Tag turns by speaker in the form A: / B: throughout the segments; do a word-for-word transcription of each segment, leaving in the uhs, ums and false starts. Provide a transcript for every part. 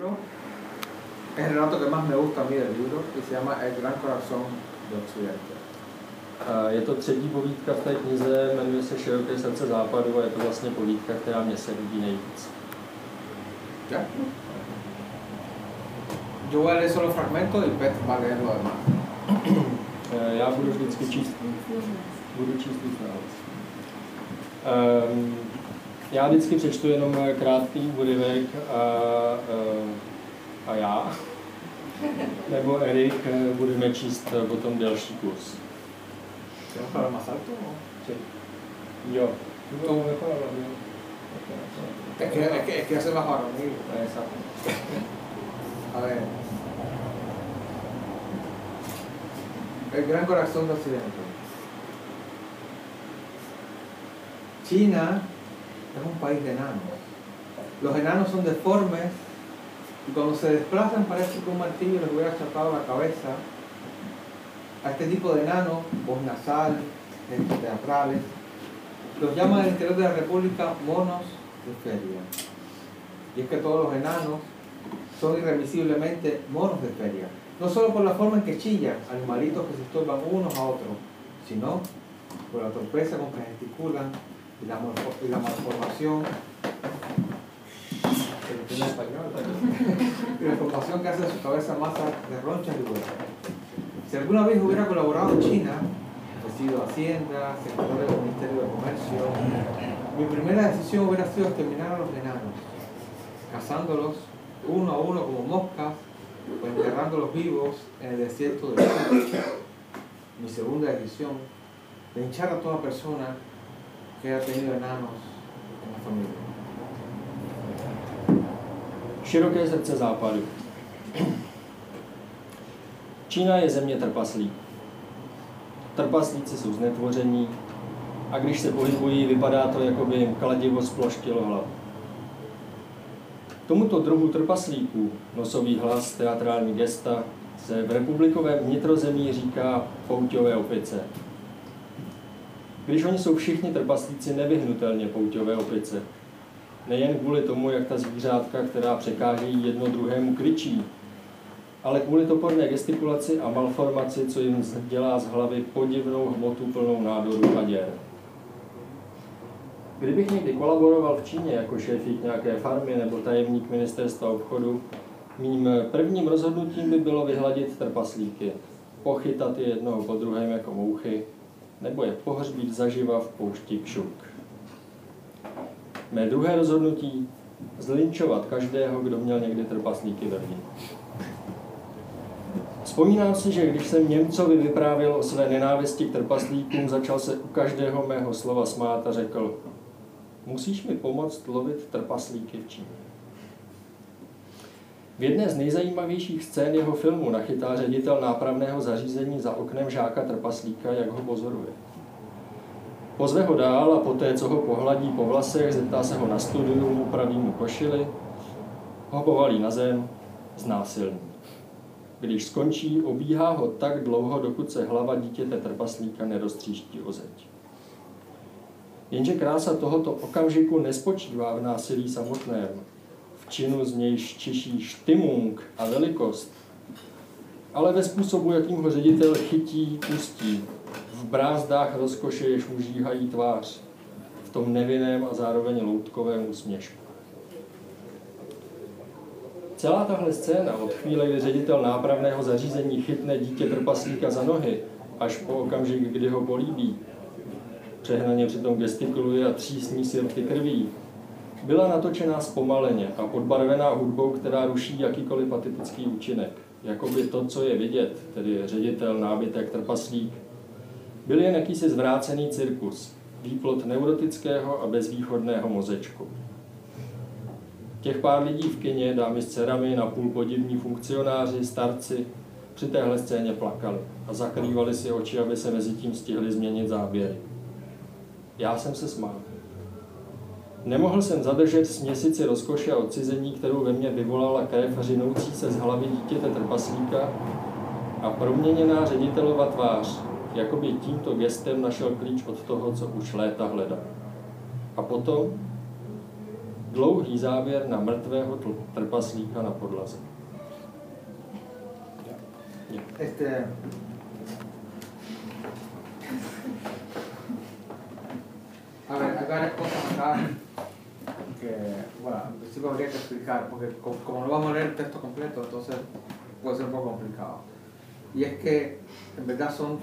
A: relato. Es el relato que más me gusta a mí del libro y se llama El gran corazón de Occidente.
B: Je to třetí povídka v té knize, jmenuje se Široké srdce západu a je to vlastně povídka, která mě se líbí nejvíc.
A: ¿Ya? Yo voy a leer solo fragmentos y Pet va a leer lo demás.
B: Já budu vždycky číst, budu číst víc navíc. Um, já vždycky přečtu jenom krátký úryvek a, a já, nebo Erik budeme číst potom delší kus.
A: ¿Tenemos para más alto?
B: Sí. Jo. No, mejor hablar,
A: Es que, es que, es que ya se bajó ahora mismo.
B: Exacto.
A: A ver. El gran corazón de Occidente. China es un país de enanos. Los enanos son deformes y cuando se desplazan parece que un martillo les hubiera chapado la cabeza. A este tipo de enanos, voz nasal, gestos teatrales, los llaman en el interior de la República monos de feria. Y es que todos los enanos son irremisiblemente monos de feria. No solo por la forma en que chillan, animalitos que se estorban unos a otros, sino por la torpeza con que gesticulan y la, y la malformación y la formación que hace de su cabeza masa de ronchas y huesos. Si alguna vez hubiera colaborado en China, ofrecido Hacienda, secretario del Ministerio de Comercio, mi primera decisión hubiera sido exterminar a los enanos, cazándolos uno a uno como moscas o enterrándolos vivos en el desierto del sur. Mi segunda decisión, linchar a toda persona que haya tenido enanos en la familia.
B: Široké srdce západu. Čína je země trpaslíků. Trpaslíci jsou znetvoření a když se pohybují, vypadá to, jako by jim kladivo sploštilo hlavu. Tomuto druhu trpaslíků, nosový hlas, teatrální gesta, se v republikovém vnitrozemí říká pouťové opice. Když oni jsou všichni trpaslíci nevyhnutelně pouťové opice. Nejen kvůli tomu, jak ta zvířátka, která překážejí jedno druhému, kričí, ale kvůli toporné gestikulaci a malformaci, co jim dělá z hlavy podivnou hmotu plnou nádoru a děr. Kdybych někdy kolaboroval v Číně jako šéfík nějaké farmy nebo tajemník ministerstva obchodu, mým prvním rozhodnutím by bylo vyhladit trpaslíky, pochytat je jednoho po druhém jako mouchy, nebo je pohřbít zaživa v poušti Kšuk. Mé druhé rozhodnutí zlinčovat každého, kdo měl někdy trpaslíky ve vní. Vzpomínám si, že když jsem Němcovi vyprávěl o své nenávisti k trpaslíkům, začal se u každého mého slova smát a řekl: musíš mi pomoct lovit trpaslíky v Číně. V jedné z nejzajímavějších scén jeho filmu nachytá ředitel nápravného zařízení za oknem žáka trpaslíka, jak ho pozoruje. Pozve ho dál a poté, co ho pohladí po vlasech, zeptá se ho na studium, upraví mu košili, ho povalí na zem, znásilní. Když skončí, obíhá ho tak dlouho, dokud se hlava dítěte trpaslíka neroztříští o zeď. Jenže krása tohoto okamžiku nespočívá v násilí samotném, v činu, z nějž čiší štimung a velikost, ale ve způsobu, jakým ho ředitel chytí, pustí, v brázdách rozkoše, jež mu žíhají tvář, v tom nevinném a zároveň loutkovém úsměšku. Celá tahle scéna od chvíle, kdy ředitel nápravného zařízení chytne dítě trpaslíka za nohy, až po okamžik, kdy ho políbí, přehnaně přitom gestikuluje a třísní si rty krví, byla natočená zpomaleně a podbarvená hudbou, která ruší jakýkoliv patetický účinek. Jakoby to, co je vidět, tedy ředitel, nábytek, trpaslík, byl jen jakýsi zvrácený cirkus, výplod neurotického a bezvýchodného mozečku. Těch pár lidí v kině, dámy s dcerami, napůl podivní funkcionáři, starci, při téhle scéně plakali a zakrývali si oči, aby se mezi tím stihli změnit záběry. Já jsem se smál. Nemohl jsem zadržet směsici rozkoše a odcizení, kterou ve mně vyvolala krev řinoucí se z hlavy dítěte trpaslíka a proměněná ředitelova tvář, jakoby tímto gestem našel klíč od toho, co už léta hledal. A potom dlouhý záběr na mrtvého trpaslíka na podlaze.
A: Este, a ver, hay varias cosas acá que, bueno, en principio habría que explicar, porque como no vamos a leer el texto completo, entonces puede ser un poco complicado. Y es que, en verdad, son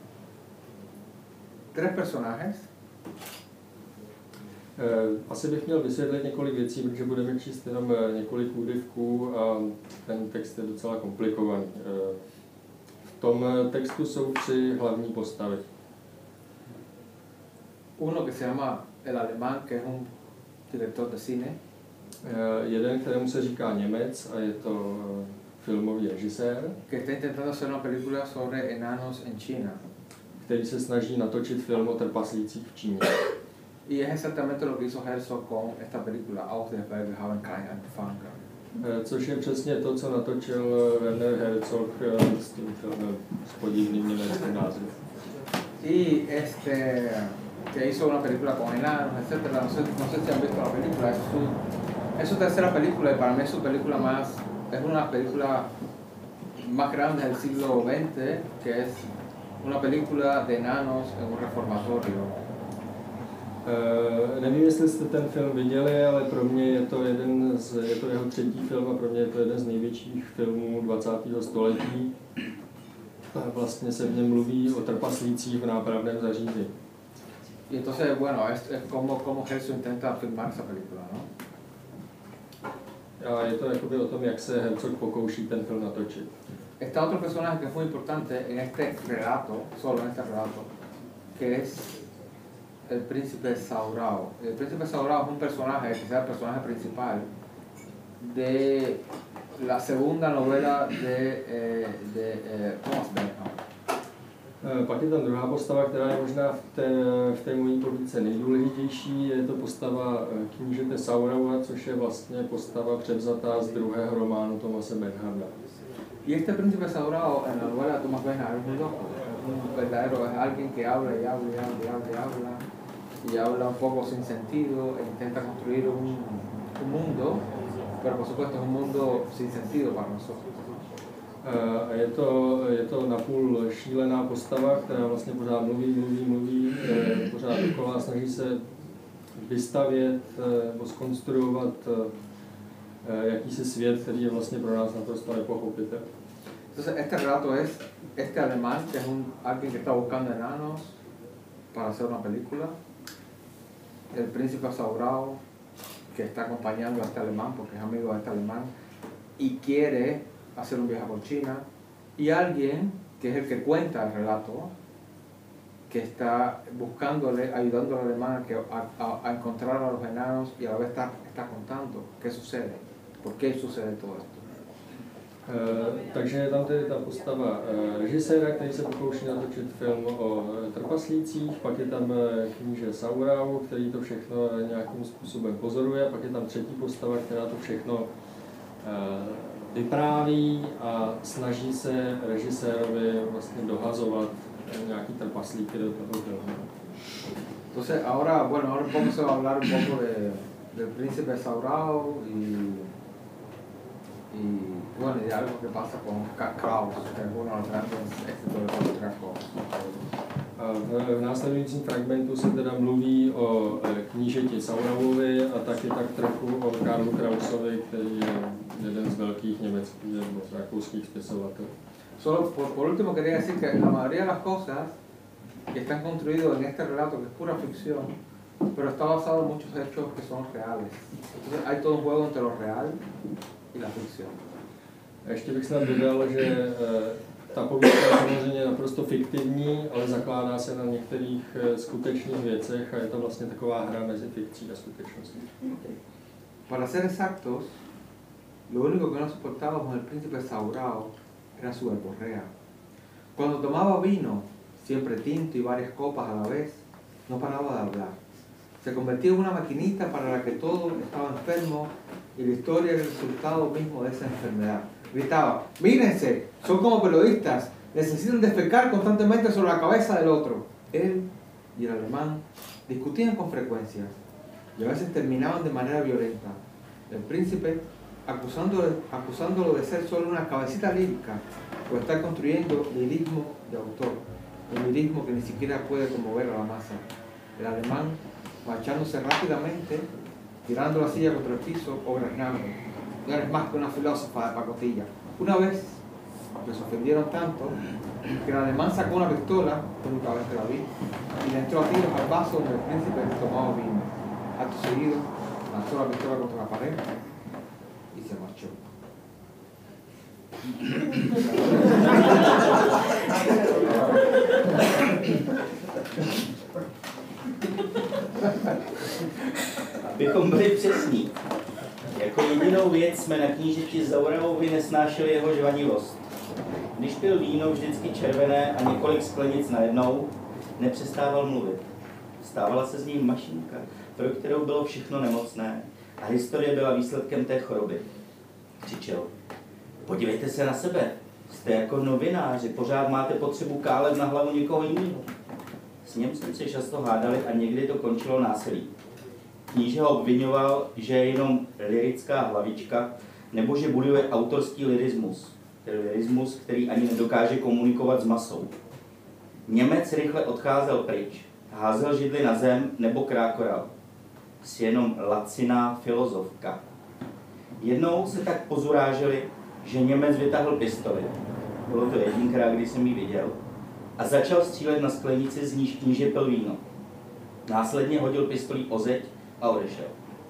A: tres personajes.
B: Uh, asi bych měl vysvětlit několik věcí, protože budeme číst jenom několik úryvků a ten text je docela komplikovaný. Uh, v tom textu jsou tři hlavní postavy.
A: Uno que se llama El Alemán, que es un director de cine.
B: Uh, jeden, kterému se říká Němec a je to filmový režisér,
A: que está intentando hacer una película sobre enanos en China.
B: Který se snaží natočit film o trpaslících v Číně.
A: Y es exactamente lo que hizo Herzog con esta película, Aus der Berge haben kein Angefangen.
B: Což je přesně to, co natočil Werner Herzog s tím filmem s podivným německým názvem.
A: Y este, que hizo una película con enanos, etcétera. No sé, no sé si han visto la película. Es su, es su tercera película y para mí es su película más, es una de las películas más grandes del siglo veinte, que es una película de enanos en un reformatorio.
B: Uh, nevím, jestli jste ten film viděli, ale pro mě je to jeden z, je to jeho třetí film a pro mě je to jeden z největších filmů dvacátého století. A vlastně se v něm mluví o trpaslících v nápravném zařízení.
A: Y entonces, bueno, es, es como, como Herzog intenta filmar esa película, ¿no?
B: A je to jakoby o tom, jak se Herzog pokouší ten film natočit.
A: Está otro personaje que es muy importante en este relato, solo en este relato, que es el príncipe Saurao. El príncipe Saurao es un personaje, que sea el personaje principal de la segunda novela de, eh, de eh, Thomas Benham.
B: Pak je tam druhá postava, která je možná v té, v té mojí povídce nejdůležitější. Je to postava knížete Sauraua, což je vlastně postava převzatá z druhého románu Thomase Benhamda.
A: Y este príncipe Saurao en la novela de Thomas Benham es muy loco, es un verdadero, es alguien que habla y habla y habla y habla y habla y habla un poco sin sentido e intenta construir un, un mundo, pero por supuesto es un mundo sin sentido para nosotros.
B: A je to, je to napůl šílená postava, která vlastně pořád mluví, mluví, mluví, pořád dokola, snaží se vystavět nebo zkonstruovat jakýsi svět, který je vlastně pro nás naprosto nepochopitelný.
A: Entonces este relato es este alemán, que es un, alguien que está buscando enanos para hacer una película, el príncipe Saurao, que está acompañando a este alemán porque es amigo de este alemán y quiere hacer un viaje por China, y alguien que es el que cuenta el relato, que está buscándole, ayudando al alemán a, a, a encontrar a los enanos y a la vez está, está contando qué sucede, por qué sucede todo esto.
B: Uh, takže je tam tedy ta postava uh, režiséra, který se pokouší natočit film o trpaslících, pak je tam kníže Saurau, který to všechno nějakým způsobem pozoruje, pak je tam třetí postava, která to všechno uh, vypráví a snaží se režisérovi vlastně dohazovat nějaký trpaslíky do toho filmu.
A: Entonces ahora, bueno, ahora vamos a hablar un poco de, del príncipe Saurau y, y bueno, y de algo que pasa con Kraus, que es uno de los grandes escritores de Krakow.
B: V, v následujícím fragmentu se teda mluví o knížeti Saurauovi a taky tak trochu o Karlu Krausovi, který je jeden z velkých německých nebo rakouských spisovatelů.
A: Solo por, por último quería decir que la mayoría de las cosas que están construidos en este relato, que es pura ficción, pero está basado en muchos hechos que son reales. Entonces hay todo un juego entre lo real y la ficción.
B: Ještě bych snad dodal, že ta povídka je samozřejmě naprosto fiktivní, ale zakládá se na některých skutečných věcech a je to vlastně taková hra mezi fikcí a skutečností.
A: Para ser exactos, lo único que no soportaba con el príncipe Saurao era su verborrea. Cuando tomaba vino, siempre tinto y varias copas a la vez, no paraba de hablar. Se convertía en una maquinita para la que todo estaba enfermo y la historia era el resultado mismo de esa enfermedad. Gritaba: mírense, son como periodistas, necesitan defecar constantemente sobre la cabeza del otro. Él y el alemán discutían con frecuencia. y a veces terminaban de manera violenta. El príncipe acusándolo, acusándolo de ser solo una cabecita lírica o estar construyendo lirismo de autor, un lirismo que ni siquiera puede conmover a la masa. El alemán, marchándose rápidamente, tirando la silla contra el piso o graznando: no eres más que una filósofa de pacotilla. Una vez les ofendieron tanto que el alemán sacó una pistola, que nunca vez la vi, y le entró a tiros al vaso donde el príncipe tomaba vino. Acto seguido, lanzó la pistola contra la pared y se marchó.
C: Abychom byli přesní. Jako jedinou věc jsme na knížeti Zauralovi nesnášeli jeho žvanivost. Když pil víno vždycky červené a několik sklenic najednou, nepřestával mluvit. Stávala se z něj mašinka, pro kterou bylo všechno nemocné a historie byla výsledkem té choroby. Křičel: podívejte se na sebe, jste jako novináři, pořád máte potřebu kálet na hlavu někoho jiného. S ním jsme se často hádali a někdy to končilo násilí. Kníže ho obvinoval, že je jenom lirická hlavička, nebo že buduje autorský lirismus, tedy lirismus, který ani nedokáže komunikovat s masou. Němec rychle odcházel pryč, házel židli na zem nebo krákoral. Jsi jenom laciná filozofka. Jednou se tak pozuráželi, že Němec vytáhl pistoli. Bylo to jedinkrát, kdy jsem ji viděl. A začal střílet na sklenici, z níž kníže pil víno. Následně hodil pistolí o zeď a odešel.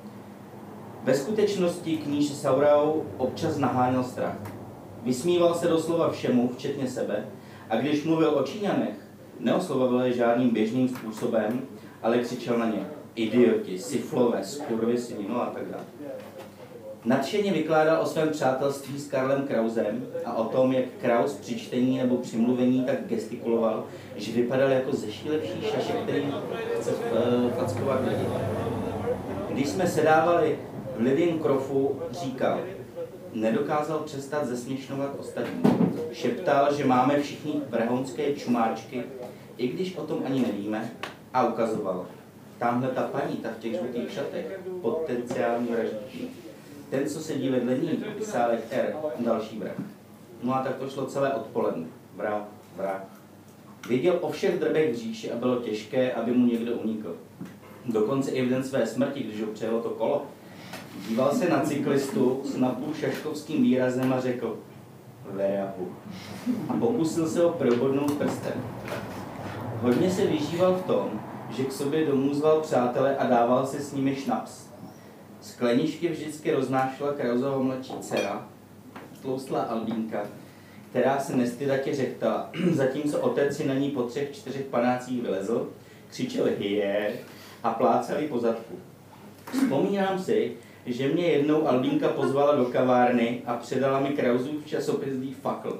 C: Ve skutečnosti kníže Saurau občas naháněl strach. Vysmíval se doslova všemu, včetně sebe, a když mluvil o Číňanech, neoslovoval je žádným běžným způsobem, ale křičel na ně: idioti, siflové, skurvysyni, no a tak dále. Nadšeně vykládal o svém přátelství s Karlem Krausem a o tom, jak Kraus při čtení nebo při mluvení tak gestikuloval, že vypadal jako zešílevší šašek, který chce fackovat lidi. Když jsme sedávali v Lidienkrofu, říkal: nedokázal přestat zesměšňovat ostatní. Šeptal, že máme všichni vrhounské čumáčky, i když o tom ani nevíme, a ukazoval: tamhle ta paní, ta v těch žlutých šatech, potenciální vraždíky. Ten, co sedí vedle ní, psálek R, další vrah. No a tak to šlo celé odpoledne. Vrah, vrah. Věděl o všech drbech v říši a bylo těžké, aby mu někdo unikl. Dokonce i v den své smrti, když ho přejelo to kolo, díval se na cyklistu s napůl šaškovským výrazem a řekl: Vejahu. A pokusil se ho probodnout prstem. Hodně se vyžíval v tom, že k sobě domů zval přátele a dával si s nimi šnaps. Skleničky vždycky roznášela Krausova mladší dcera, tloustlá Albínka, která se nestydatě řechtala, zatímco otec si na ní po třech, čtyřech panácích vylezl, křičel hyje a plácal jí po zadku. Vzpomínám si, že mě jednou Albínka pozvala do kavárny a předala mi Krausův časopis Die Fackel.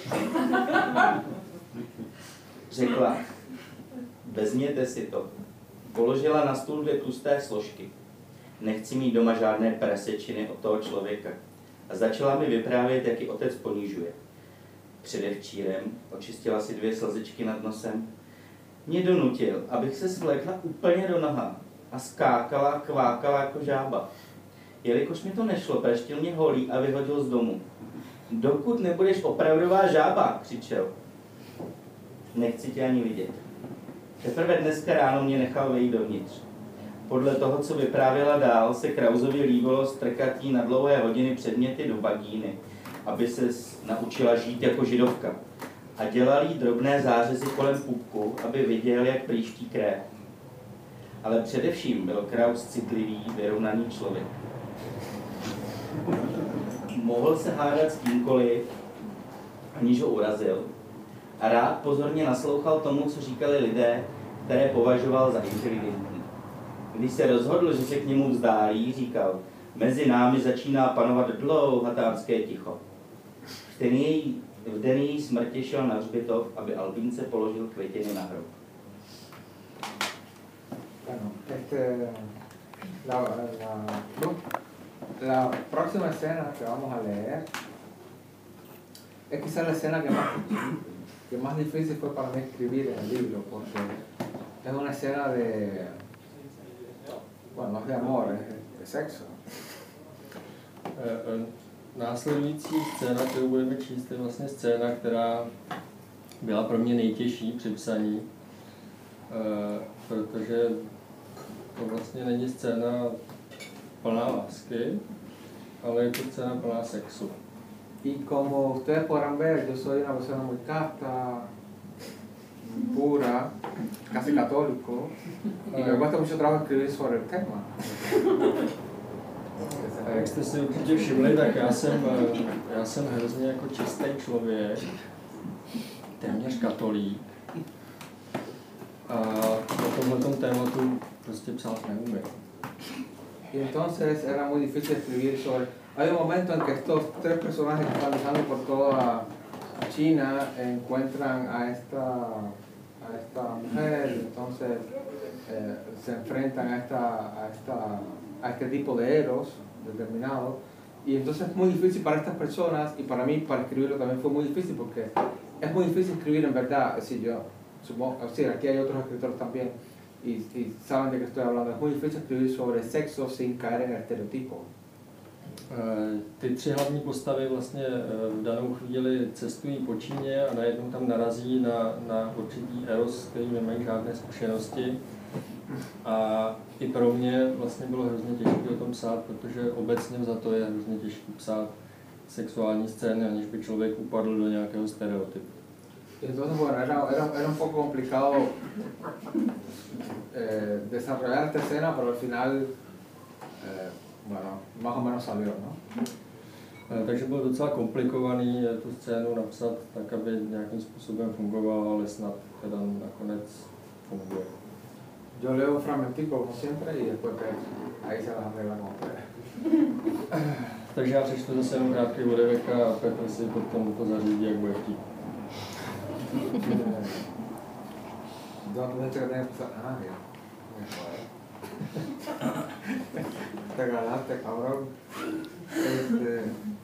C: Řekla: vezměte si to. Položila na stůl dvě tlusté složky. Nechci mít doma žádné prasečiny od toho člověka. A začala mi vyprávět, jak ji otec ponižuje. Předevčírem očistila si dvě slzičky nad nosem. Mě donutil, abych se svlékla úplně do noha a skákala a kvákala jako žába. Jelikož mi to nešlo, praštil mě holí a vyhodil z domu. Dokud nebudeš opravdová žába, křičel. Nechci tě ani vidět. Teprve dneska ráno mě nechal vejít dovnitř. Podle toho, co vyprávěla dál, se Krausovi líbilo strkat jí na dlouhé hodiny předměty do vagíny, aby se naučila žít jako židovka. A dělal jí drobné zářezy kolem pupku, aby viděl, jak prýští krev. Ale především byl Kraus citlivý, vyrovnaný člověk. Mohl se hádat s kýmkoliv, aniž ho urazil, a rád pozorně naslouchal tomu, co říkali lidé, které považoval za inteligentní. Když se rozhodl, že se k němu vzdálí, říkal: mezi námi začíná panovat dlouhatánské ticho. V den její, v den její smrti šel na hřbitov, aby Albínce položil květiny na hrob.
A: Bueno, este, la, la, la próxima escena que vamos a leer es quizás la escena que más, que más difícil fue para mí escribir en el libro, porque es una escena de, Bueno, no es de amor, es de sexo.
B: Následující scéna, kterou budeme číst, je vlastně scéna, která byla pro mě nejtěžší při psaní, protože to vlastně není scéna plná lásky, ale je to scéna plná sexu.
A: Y como ustedes podrán ver, yo soy una persona muy casta, pura, casi católico, y me cuesta mucho trabajo escribir sobre el tema.
B: A jak jste si určitě všimli, tak já jsem, já jsem hrozně jako čistý člověk, téměř katolík. A o tomhletom tématu prostě psát neumím.
A: Y entonces era muy difícil escribir sobre... Hay un momento en que estos tres personajes que están viajando por toda China encuentran a esta, a esta mujer, entonces eh, se enfrentan a, esta, a, esta, a este tipo de eros determinado, y entonces es muy difícil para estas personas, y para mí para escribirlo también fue muy difícil, porque es muy difícil escribir en verdad, es decir, yo supongo, sí, aquí hay otros escritores también, y, y saben de qué estoy hablando, es muy difícil escribir sobre sexo sin caer en el estereotipo.
B: Ty tři hlavní postavy vlastně v danou chvíli cestují po Číně a najednou tam narazí na, na určitý eros, který nemají žádné zkušenosti. A i pro mě vlastně bylo hrozně těžké o tom psát, protože obecně za to je hrozně těžké psát sexuální scény, aniž by člověk upadl do nějakého stereotypu.
A: Entonces, bueno, era, era, era un poco complicado eh, desarrollar esta escena, pero al final, eh, bueno, más o menos salió, ¿no?
B: Takže bylo docela komplikovaný tu scénu napsat tak, aby nějakým způsobem fungovala, ale snad teda nakonec funguje.
A: Yo leo un fragmentico como siempre y después ahí se las arregla como ustedes.
B: Takže já přečtu zase jenom krátký úryvek a Petr si potom to zařídí, jak bude chtít.
A: ¿Dónde te tenés que empezar? Ah, ya. Te ganaste, cabrón. Este...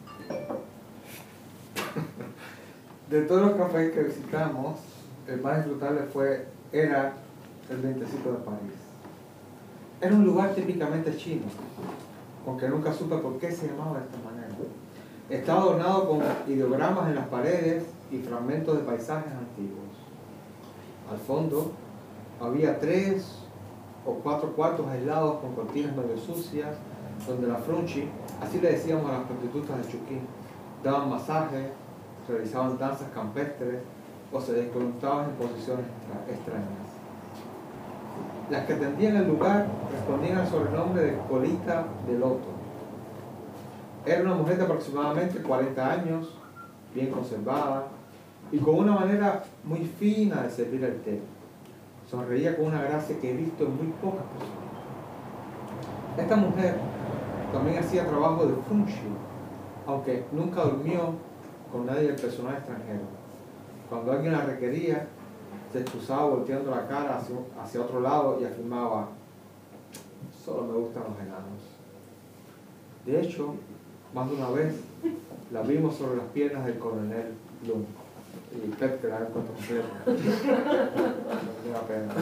A: De todos los cafés que visitamos, el más disfrutable fue, era el Vientecito de París. Era un lugar típicamente chino, aunque nunca supe por qué se llamaba de esta manera. Estaba adornado con ideogramas en las paredes y fragmentos de paisajes antiguos. Al fondo había tres o cuatro cuartos aislados con cortinas medio sucias, donde la frunchi, así le decíamos a las prostitutas de Chuquín, daban masajes, realizaban danzas campestres o se desconectaban en posiciones extrañas. Las que atendían el lugar respondían al sobrenombre de Colita de Loto. Era una mujer de aproximadamente cuarenta años, bien conservada y con una manera muy fina de servir el té. Sonreía con una gracia que he visto en muy pocas personas. Esta mujer también hacía trabajo de funchi, aunque nunca durmió con nadie del personal extranjero. Cuando alguien la requería, se excusaba volteando la cara hacia, hacia otro lado y afirmaba: solo me gustan los enanos. De hecho, más de una vez la vimos sobre las piernas del coronel Lung. Y Pep, que la había puesto completo. No me pena.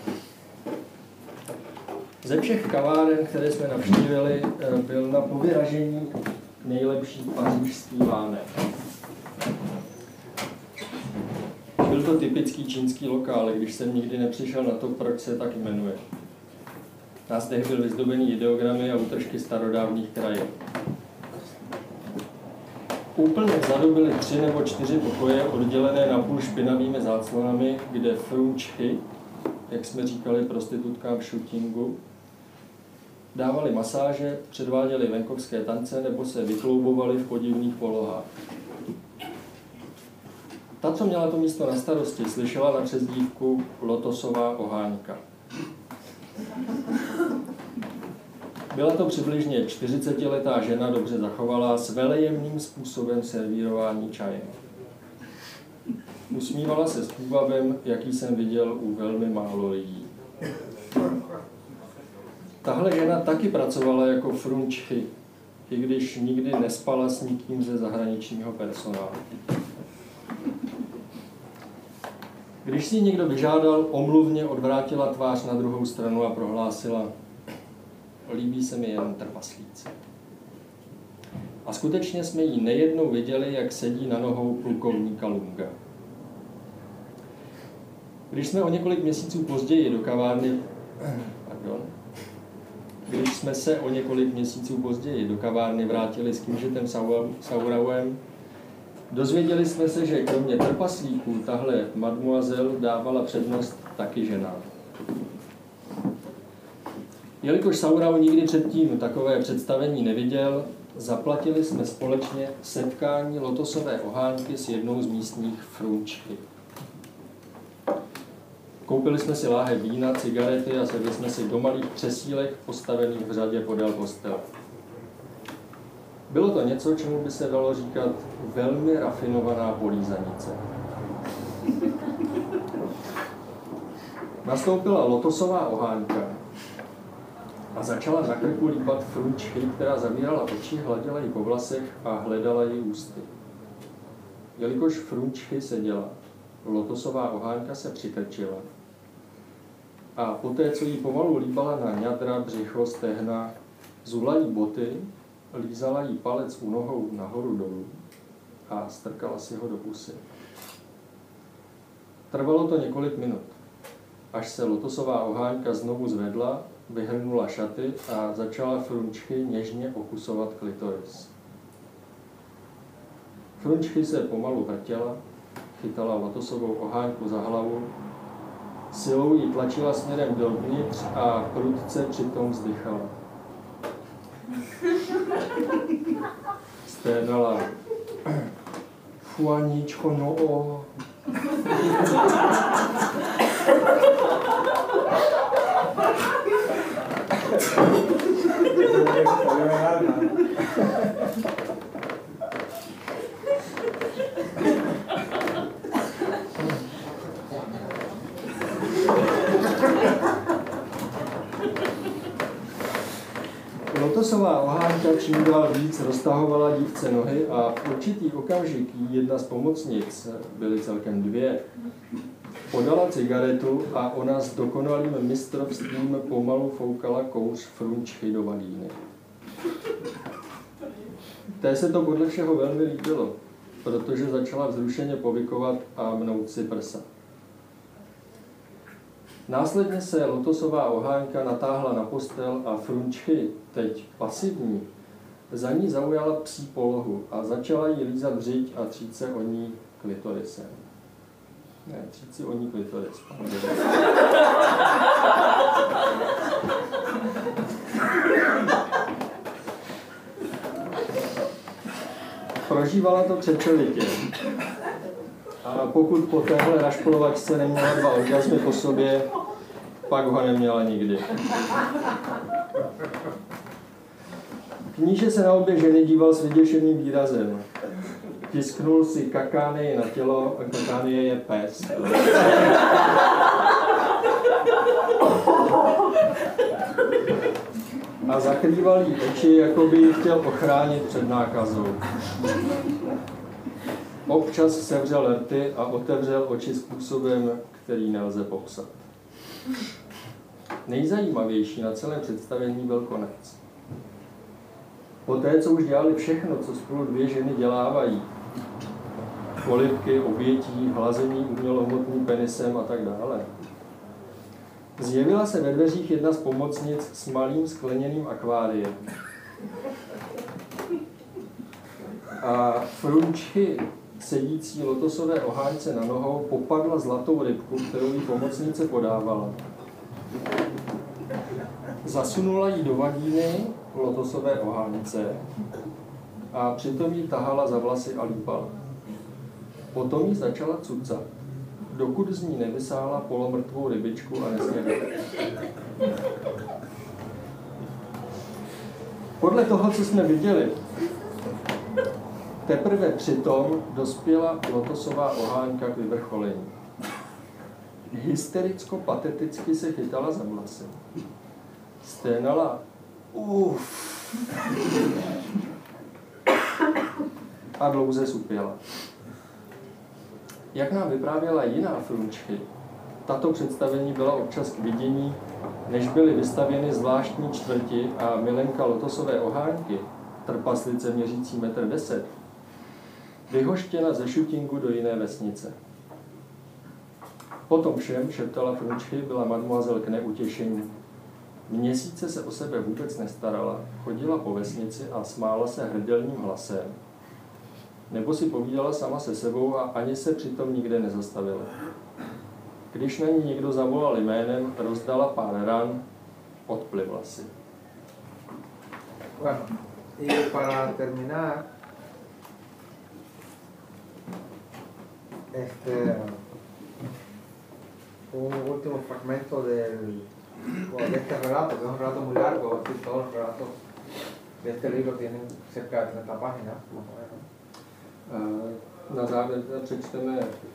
B: Ze všech kaváren, které jsme navštívili, byl na povyražení nejlepší pařížský vánek. Byl to typický čínský lokál, když jsem nikdy nepřišel na to, proč se tak jmenuje. Názdech byl vyzdobený ideogramy a útržky starodávných krajin. Úplně vzadu byly tři nebo čtyři pokoje oddělené napůl špinavými záclonami, kde frunčky, jak jsme říkali prostitutkám v Šutingu, dávali masáže, předváděli venkovské tance nebo se vykloubovali v podivných polohách. Ta, co měla to místo na starosti, slyšela na přezdívku Lotosová oháňka. Byla to přibližně čtyřicetiletá žena, dobře zachovalá, s velejemným způsobem servírování čaje. Usmívala se s půvabem, jaký jsem viděl u velmi málo lidí. Tahle žena taky pracovala jako frunčchy, i když nikdy nespala s nikým ze zahraničního personálu. Když si někdo vyžádal, omluvně odvrátila tvář na druhou stranu a prohlásila: líbí se mi jen trpaslíci. A skutečně jsme ji nejednou viděli, jak sedí na nohou plukovníka Lunga. Když jsme o několik měsíců později do kavárny, pardon, když jsme se o několik měsíců později do kavárny vrátili s knížetem Saurauem, dozvěděli jsme se, že kromě trpaslíků tahle mademoiselle dávala přednost taky ženám. Jelikož Saurau nikdy předtím takové představení neviděl, zaplatili jsme společně setkání lotosové ohánky s jednou z místních frunčky. Koupili jsme si láhev vína, cigarety a sedli jsme si do malých křesílek postavených v řadě podél postele. Bylo to něco, čemu by se dalo říkat velmi rafinovaná polízanice. Nastoupila lotosová ohánka a začala na krku lípat frunčky, která zavírala oči, hladila ji po vlasech a hledala ji ústy. Jelikož frunčky seděla, lotosová ohánka se přikrčila a poté, co jí pomalu líbala na ňadra, břicho, stehna, zula jí boty, lízala jí palec u nohou nahoru dolů a strkala si ho do pusy. Trvalo to několik minut, až se lotosová ohánka znovu zvedla, vyhrnula šaty a začala frunčky něžně okusovat klitoris. Frunčky se pomalu vrtěla, chytala lotosovou ohánku za hlavu, silou ji tlačila směrem dovnitř a prudce přitom vzdychala. Sténala. Fuaníčko, no o. Lotosová ohánka čím dál víc roztahovala dívce nohy a v určitý okamžik jedna z pomocnic, byly celkem dvě, podala cigaretu a ona s dokonalým mistrovstvím pomalu foukala kouř frunčky do vagíny. Té se to podle všeho velmi líbilo, protože začala vzrušeně povykovat a mnout si prsa. Následně se lotosová ohánka natáhla na postel a frunčky, teď pasivní, za ní zaujala psí polohu a začala jí lízat břiť a třít se o ní klitorisem. Ne, třít si o ní klitoris. Prožívala to křečelitě. A pokud po téhle rašpolovačce neměla dva orgasmy po sobě, pak ho neměla nikdy. Kníže se na obě ženy díval s vyděšeným výrazem. Tisknul si kakánie na tělo, a kakánie je pes. A zakrýval jí oči, jako by ji chtěl ochránit před nákazou. Občas sevřel rty a otevřel oči způsobem, který nelze popsat. Nejzajímavější na celém představení byl konec. Poté, co už dělali všechno, co spolu dvě ženy dělávají, polibky, obětí, hlazení umělohmotným penisem a tak dále, zjevila se ve dveřích jedna z pomocnic s malým skleněným akváriem. A frunčky, sedící lotosové ohánce na nohou, popadla zlatou rybku, kterou jí pomocnice podávala. Zasunula ji do vagíny lotosové ohánce a přitom ji tahala za vlasy a lípala. Potom ji začala cucat, dokud z ní nevysála polomrtvou rybičku a nesnědala. Podle toho, co jsme viděli, teprve přitom dospěla lotosová ohánka k vyvrcholení. Hystericko-pateticky se chytala za vlasy. Sténala uff a dlouze supěla. Jak nám vyprávěla jiná frunčky, Tato představení byla občas k vidění, než byly vystavěny zvláštní čtvrti a milenka lotosové ohánky, trpaslice měřící metr deset, vyhoštěna ze Šutingu do jiné vesnice. Potom všem, šeptala Frunčky, byla mademoiselle k neutěšení. Měsíce se o sebe vůbec nestarala, chodila po vesnici a smála se hrdelním hlasem. Nebo si povídala sama se sebou a ani se přitom nikde nezastavila. Když na ní někdo zavolal jménem, rozdala pár ran, odplivla si.
A: Bueno, y para terminar, este, un último fragmento del, bueno, de este relato, que es un relato muy largo, así todos los relatos de este libro tienen cerca de treinta páginas, más o menos.
B: Na závěr přečteme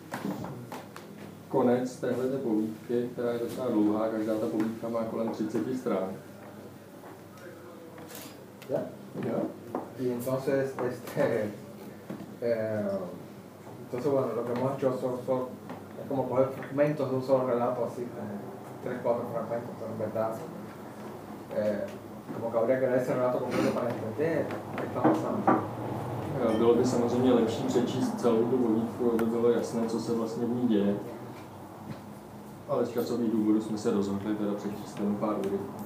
B: konec téhleté povídky, která je docela dlouhá, každá ta povídka má kolem třicet strán.
A: ¿Ya?
B: ¿Ya?
A: Y entonces, este, eh, entonces bueno, lo que hemos hecho son, son es como coger fragmentos de un solo relato, así como tres, cuatro fragmentos, pero en verdad, eh, como que habría que leer ese relato completo para entender qué está pasando.
B: Bylo by samozřejmě lepší přečíst celou tu povídku, aby bylo jasné, co se vlastně v ní děje. Ale z časových důvodů jsme se rozhodli teda přečíst jenom pár úryvků.